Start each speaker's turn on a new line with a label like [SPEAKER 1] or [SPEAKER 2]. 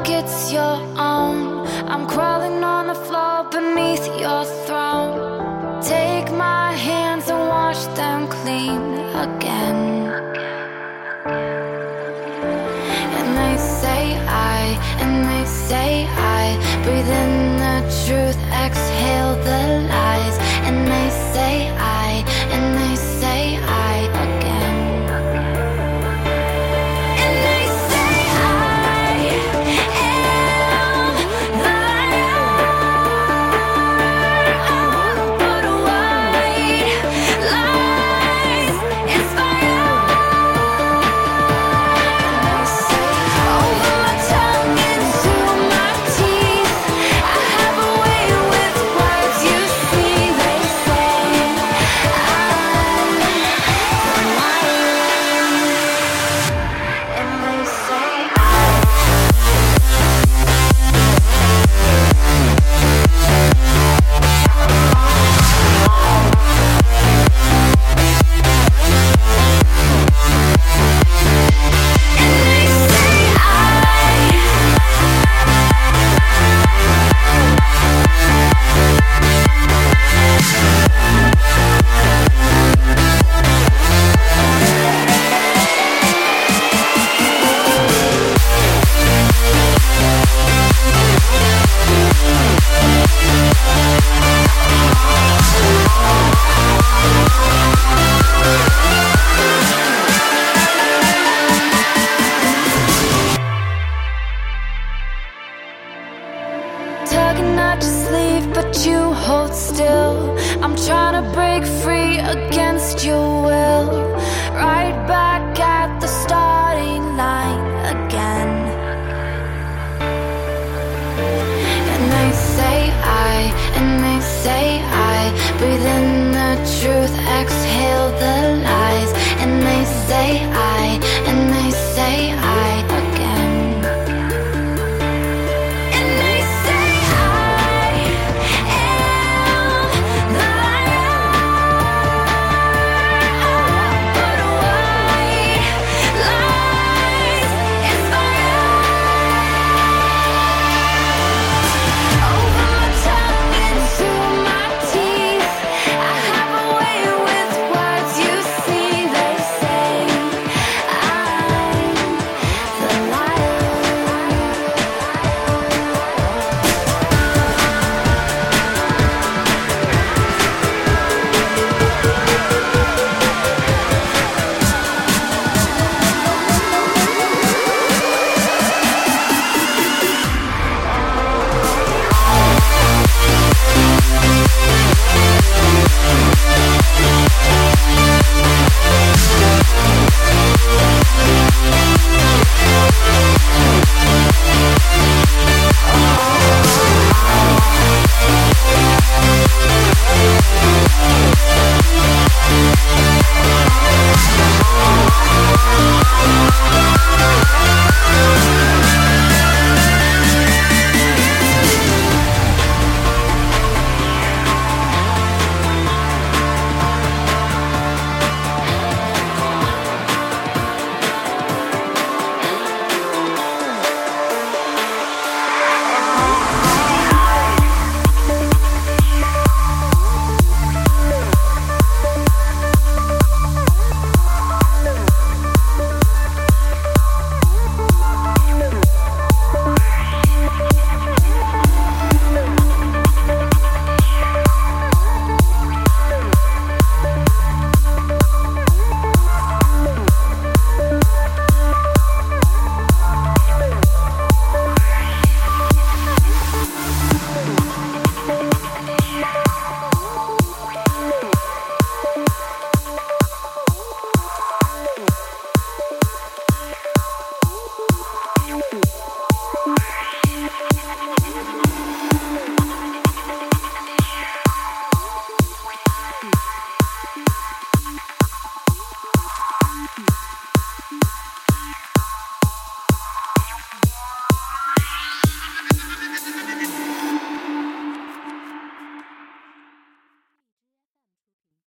[SPEAKER 1] like it's your own. I'm crawling on the floor beneath your throne. Take my hands and wash them clean again. And they say I breathe in the truth, exhale the lies. And they say I again. And they say I am the liar. But white lies inspire. And they say over my tongue into my teeth, I have a way with words. You see, they say I'm the liar. And they say tugging at your sleeve, but you hold still. I'm trying to break free against your will. Right back at the starting line again. And they say I breathe in the truth, exhale the lies. And they say I again. And they say I am the liar. But white lies inspire. Over my tongue into my teeth, I have a way with words. You see, they say I'm the liar.